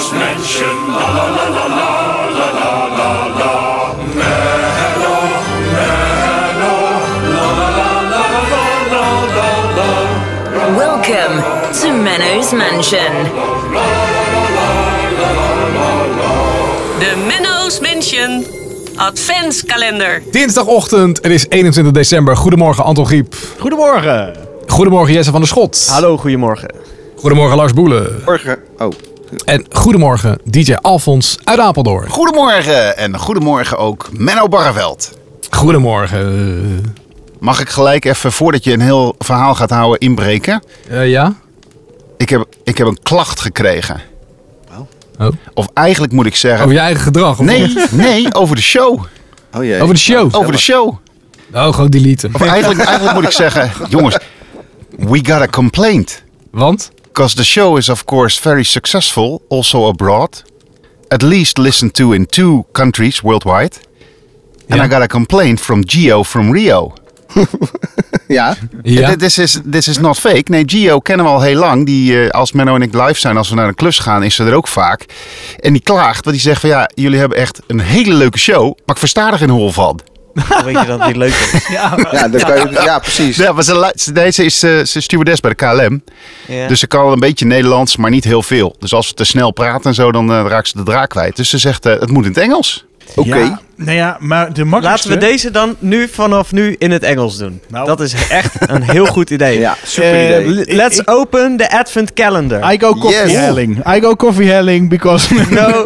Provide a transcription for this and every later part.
Menno's Mansion. La la la la la la la la la. Menno, Menno, la la la la la la la. Welcome to Menno's Mansion. De Menno's Mansion Adventskalender. Dinsdagochtend, het is 21 december. Goedemorgen Anton Griep. Goedemorgen. Goedemorgen Jesse van der Schot. Hallo, goedemorgen. Goedemorgen Lars Boelen. Morgen. Oh. En goedemorgen DJ Alfons uit Apeldoorn. Goedemorgen en goedemorgen ook Menno Barreveld. Goedemorgen. Mag ik gelijk even, voordat je een heel verhaal gaat houden, inbreken? Ja? Ik heb een klacht gekregen. Oh. Of eigenlijk moet ik zeggen... Over je eigen gedrag? Of Nee, over de show. Oh jee. Over de show? Over de show. Oh, gewoon deleten. Of eigenlijk moet ik zeggen, jongens, we got a complaint. Want? Because the show is of course very successful, also abroad. At least listened to in 2 countries worldwide. And I got a complaint from Gio from Rio. Ja? This is not fake. Nee, Gio kennen we al heel lang. Die, als Menno en ik live zijn, als we naar een klus gaan, is ze er ook vaak. En die klaagt, want die zegt van ja, jullie hebben echt een hele leuke show, maar ik versta er geen hol van. Weet je dat het niet leuk is? Ja, precies. Ja, maar ze is stewardess bij de KLM. Ja. Dus ze kan wel een beetje Nederlands, maar niet heel veel. Dus als we te snel praten en zo, dan raakt ze de draak kwijt. Dus ze zegt, het moet in het Engels. Oké. Ja, nou ja, maar de makkelijkste... Laten we deze dan vanaf nu in het Engels doen. Nou. Dat is echt een heel goed idee. Ja, super idee. Let's open the Advent calendar. I go coffee helling. I go coffee helling because... No.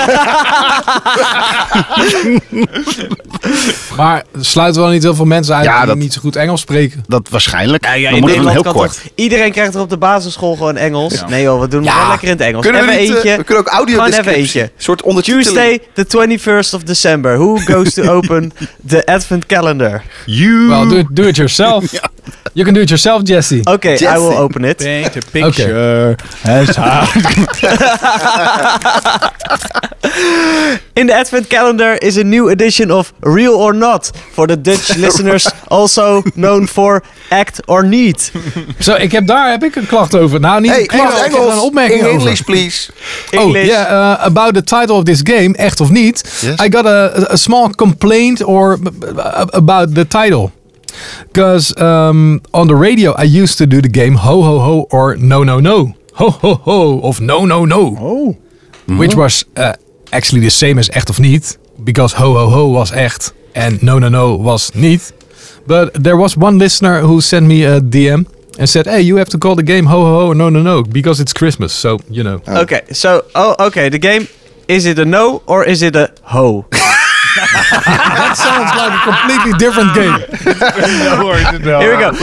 Maar sluiten we dan niet heel veel mensen uit die niet zo goed Engels spreken? Dat waarschijnlijk. Ja, dan moet het heel kan kort. Iedereen krijgt er op de basisschool gewoon Engels. Ja. Nee joh, we doen het wel lekker in het Engels. Kunnen we Even niet, eentje. we kunnen ook audio Gewoon even descriptie. eentje. Soort ondertiteling. Tuesday, the 21st of December. Who goes to open the Advent calendar? You. Well, do it yourself. You can do it yourself, Jesse. Okay, I will open it. Paint a picture. In the Advent calendar is a new edition of Real or Not for the Dutch listeners, also known for Act or Need. Zo, daar heb ik een klacht over. Nou, niet een klacht, ik heb er een opmerking over. English, please. Oh, yeah, about the title of this game, echt of niet. Yes. I got a small complaint about the title. Because on the radio I used to do the game Ho Ho Ho or No No No. Ho Ho Ho of No No No. Oh. Which was actually the same as echt of niet. Because Ho Ho Ho was echt and No No No was niet. But there was one listener who sent me a DM and said, hey, you have to call the game Ho Ho Ho or No No No because it's Christmas. So, you know. Okay, the game, is it a no or is it a ho? That sounds like a completely different game. Here we go.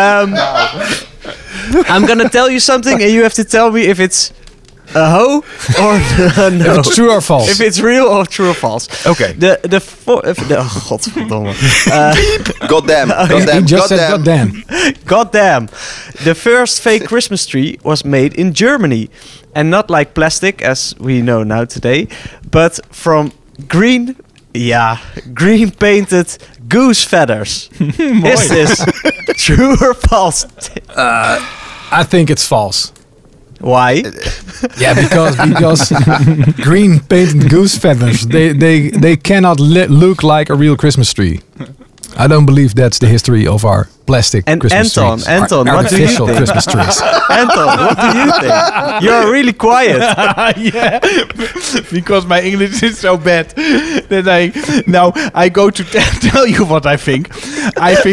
I'm gonna tell you something and you have to tell me if it's a ho or a no. If it's true or false. If it's real or true or false. Okay. Godverdomme. Goddamn. He just said goddamn. Goddamn. The first fake Christmas tree was made in Germany. And not like plastic, as we know now today, but from green painted goose feathers. Is this true or false? I think it's false. Why? Yeah, because green painted goose feathers, they cannot look like a real Christmas tree. I don't believe that's the history of our plastic Christmas trees. Anton, our what do you artificial think? Christmas trees. Anton, what do you think? You're really quiet. Yeah, because my English is so bad that I go to tell you what I think. I think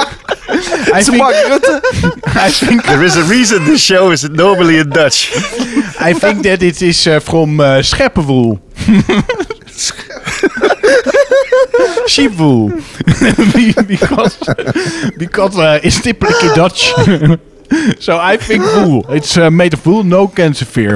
There is a reason the show is normally in Dutch. I think that it is from scheppenwool. Sheepwool. because it's typically Dutch. So I think wool. It's made of wool, no cancer fear.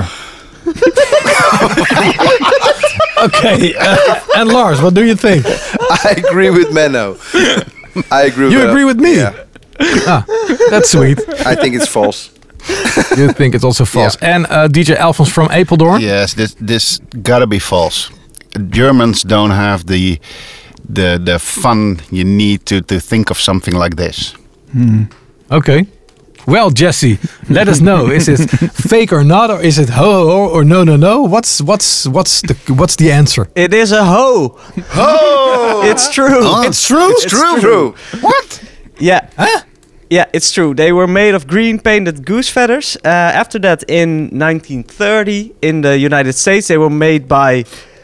Okay, and Lars, what do you think? I agree with Menno. I agree with You agree with me? Yeah. That's sweet. I think it's false. You think it's also false. Yeah. And DJ Alfons from Apeldoorn? Yes, this gotta be false. Germans don't have the fun you need to think of something like this. Okay. Well, Jesse, let us know. Is it fake or not, or is it ho ho ho or no no no? What's the answer? It is a hoe. Oh! It's true. It's true. It's true. What? Yeah. Huh? Yeah, it's true. They were made of green painted goose feathers. After that, in 1930, in the United States, they were made by...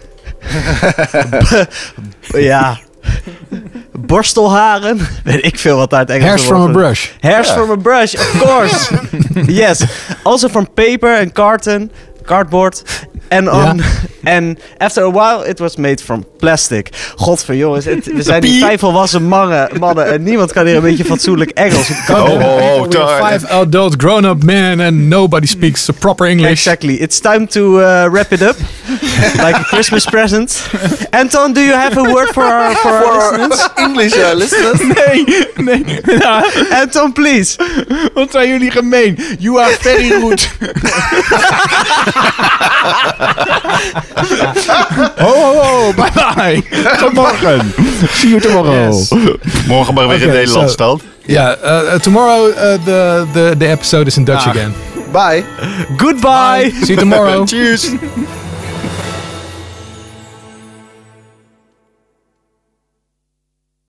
ja... borstelharen. Weet ik veel wat daar het Engelse Hairs from a brush. Hairs from a brush, of course. Yes. Also from paper and cardboard. And after a while it was made from plastic. Godver jongens, we zijn hier 5 volwassen mannen en niemand kan hier een beetje fatsoenlijk Engels. Five adult grown-up men and nobody speaks proper English. Exactly. It's time to wrap it up. Like a Christmas present. Anton, do you have a word for our listeners? English listeners. Nee. Anton, please. Wat zijn jullie gemeen? You are very rude. Oh, bye bye. Tot morgen. See you tomorrow. Yes. Morgen maar weer in Nederland stand. Tomorrow the episode is in Dutch again. Bye. Goodbye. See you tomorrow. Cheers.